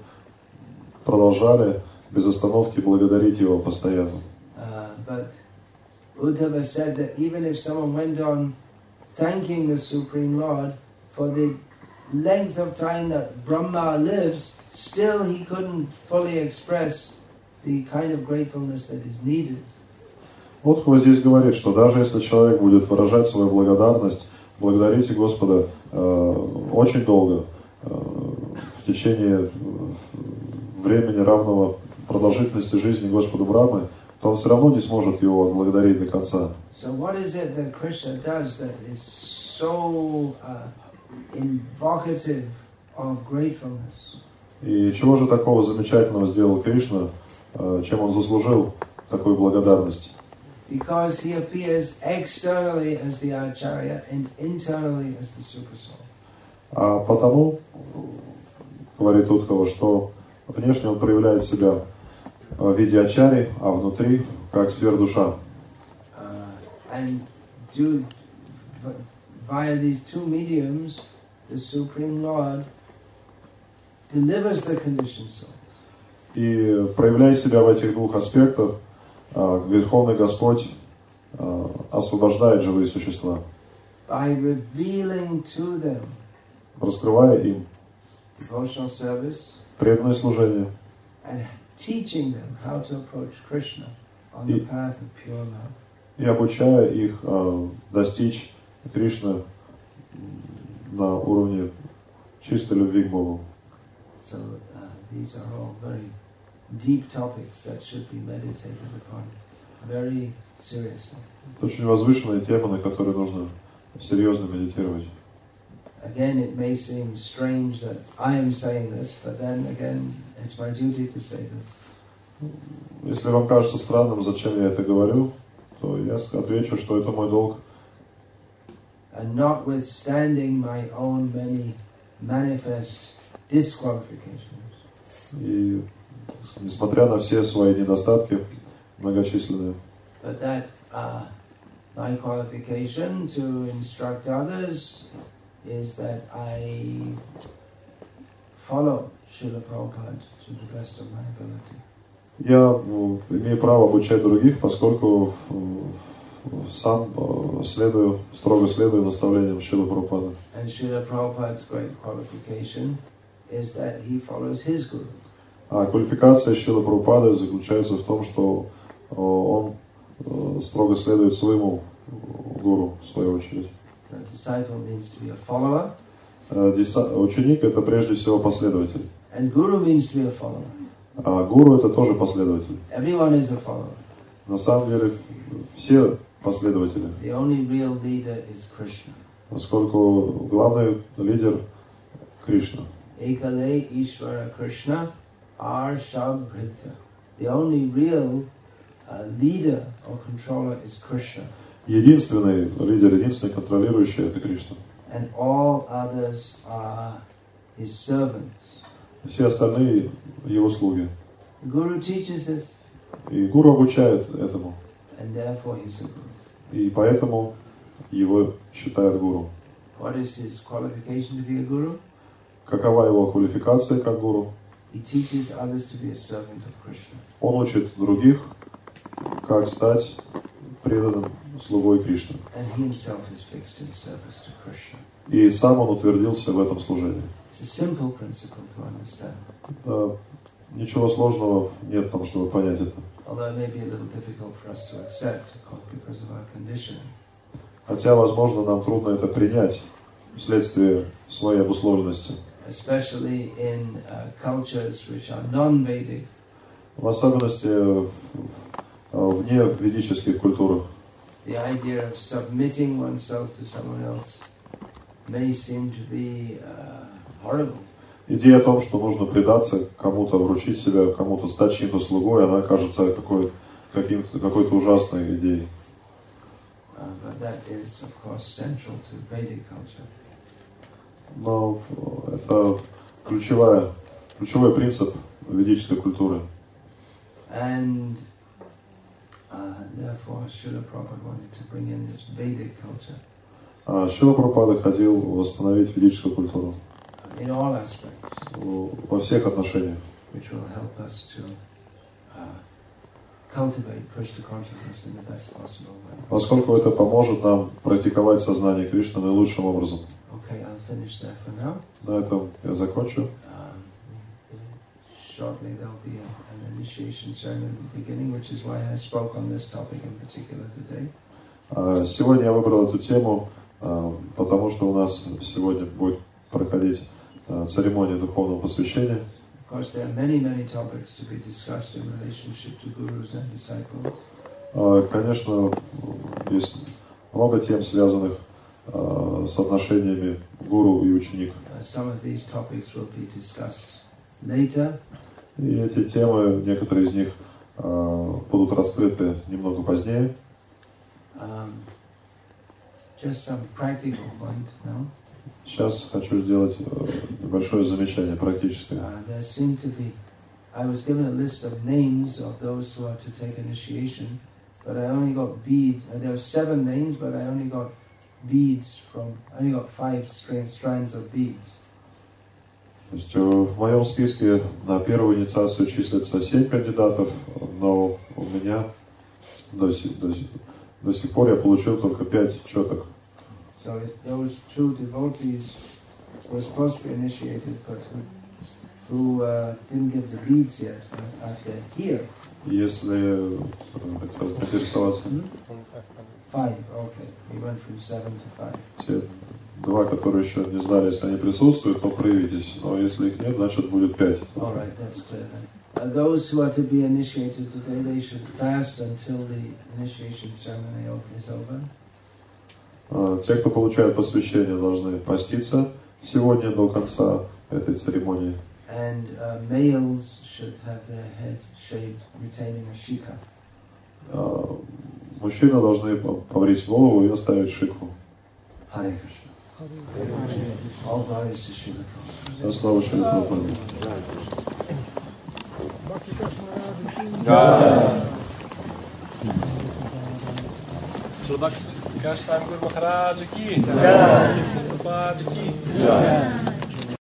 продолжали без остановки благодарить его постоянно? Uh, but Uddhava said that even if someone went on thanking the Supreme Lord for the length of time that Brahma lives, still he couldn't fully express the kind of gratefulness that is needed. Вот кто здесь говорит, что даже если человек будет выражать свою благодарность, благодарите Господа э, очень долго, э, в течение времени равного продолжительности жизни Господа Брамы, то он все равно не сможет его отблагодарить до конца. So what is it that Krishna does that is so uh, invocative of gratefulness? И чего же такого замечательного сделал Кришна, э, чем он заслужил такую благодарность? Because he appears externally as the Acharya and internally as the Supersoul. А потому, говорит Удхава, что внешне он проявляет себя в виде ачари, а внутри как сверхдуша. Uh, and do, via these two mediums, the Supreme Lord delivers the conditioned soul. И проявляя себя в этих двух аспектах, Верховный Господь освобождает живые существа, By revealing to them раскрывая им devotional service преданное служение and teaching them how to approach Krishna on the path of pure love. И обучая их достичь Кришны на уровне чистой любви к Богу. So uh, these are all very deep topics that should be meditated upon very seriously. Это очень возвышенная тема, на которой нужно серьезно медитировать. Again, it may seem strange that I am saying this, but then again, it's my duty to say this. Если вам кажется странным, зачем я это говорю, то я отвечу, что это мой долг and notwithstanding my own many manifest disqualifications. И несмотря на все свои недостатки многочисленные. But that uh, my qualification to instruct others is that I follow Srila Prabhupada to the best of my ability. Я ну, имею право обучать других, поскольку сам следую, строго следую наставлениям Шрилы Прабхупады. And Srila Prabhupada's great qualification is that he follows his guru. А квалификация Шрилы Прабхупады заключается в том, что он строго следует своему гуру, в свою очередь. So a disciple means to be a follower. Ученик — это прежде всего последователь. And guru means to be a follower. А гуру — это тоже последователь. Everyone is a follower. На самом деле все последователи. The only real leader is Krishna. Поскольку главный лидер Кришна. Ekale Ishvara Krishna Arshabhrita. The only real uh, leader or controller is Krishna. Единственный лидер, единственный контролирующий — это Кришна. And all others are his servants. Все остальные его слуги. The Guru teaches this. И гуру обучает этому. And therefore he's a guru. И поэтому его считают гуру. What is his qualification to be a guru? Какова его квалификация как гуру? He teaches others to be a servant of Krishna. Он учит других, как стать преданным слугой Кришны. And he himself is fixed in service to Krishna. И сам он утвердился в этом служении. It's a simple principle to understand. Да, ничего сложного нет в том, чтобы понять это. Although it may be a little difficult for us to accept because of our condition. Хотя, возможно, нам трудно это принять вследствие своей обусловленности. Especially in uh, cultures which are non-Vedic. В особенности вне ведических культурах. The idea of submitting oneself to someone else may seem to be uh, horrible. Идея о том, что нужно предаться кому-то, вручить себя кому-то, стать чьим-то слугой, она кажется какой, каким-то, какой-то ужасной идеей. Uh, but that is, of course, central to Vedic culture. Но это ключевая, ключевой принцип ведической культуры. And uh, therefore, Srila Prabhupada wanted to bring in this Vedic culture. А Шрила Прабхупада хотел восстановить ведическую культуру. In all aspects. Во всех отношениях. Which will help us to uh, cultivate Krishna consciousness in the best possible way. Поскольку это поможет нам практиковать сознание Кришны наилучшим образом. Okay, I'll finish there for now. На этом я закончу. Um, shortly there'll be a, an initiation ceremony at the beginning, which is why I spoke on this topic in particular today. Сегодня я выбрал эту тему, потому что у нас сегодня будет проходить церемония духовного посвящения. Of course, there are many, many topics to be discussed in relationship to gurus and disciples. Конечно, есть много тем, связанных с отношениями гуру и ученик. Some of these topics will be discussed later. И эти темы, некоторые из них будут раскрыты немного позднее. Um, just some practical point now. Сейчас хочу сделать небольшое замечание практическое. Uh, there seem to be, I was given a list of names of those who are to take initiation, but I only got beads. Uh, there were seven names, but I only got beads from, I only got five strands of beads. То есть в моем списке на первую инициацию числится семь кандидатов, но у меня до сих, до, до сих пор я получил только пять четок. So if those true devotees were supposed to be initiated, but who, who uh, didn't give the beads yet, uh, are they here? Если хотел поинтересоваться. Five, okay. We went from seven to five. Те два, которые еще не знали, если они присутствуют, то проявитесь. Но если их нет, значит будет пять. All right, that's clear then. Uh, those who are to be initiated today, they should fast until the initiation ceremony is over. Те, кто получает посвящение, должны поститься сегодня до конца этой церемонии. And uh, males should have their head shaved, retaining a shikha. Мужчины должны побрить голову и оставить шикху. Hare Krishna. All glories to Srila Prabhupada. Да, слава Шри Прабхупаде. Shri Bhakti Vikas Thakur Maharaj ki jai. Prabhupada ki jai.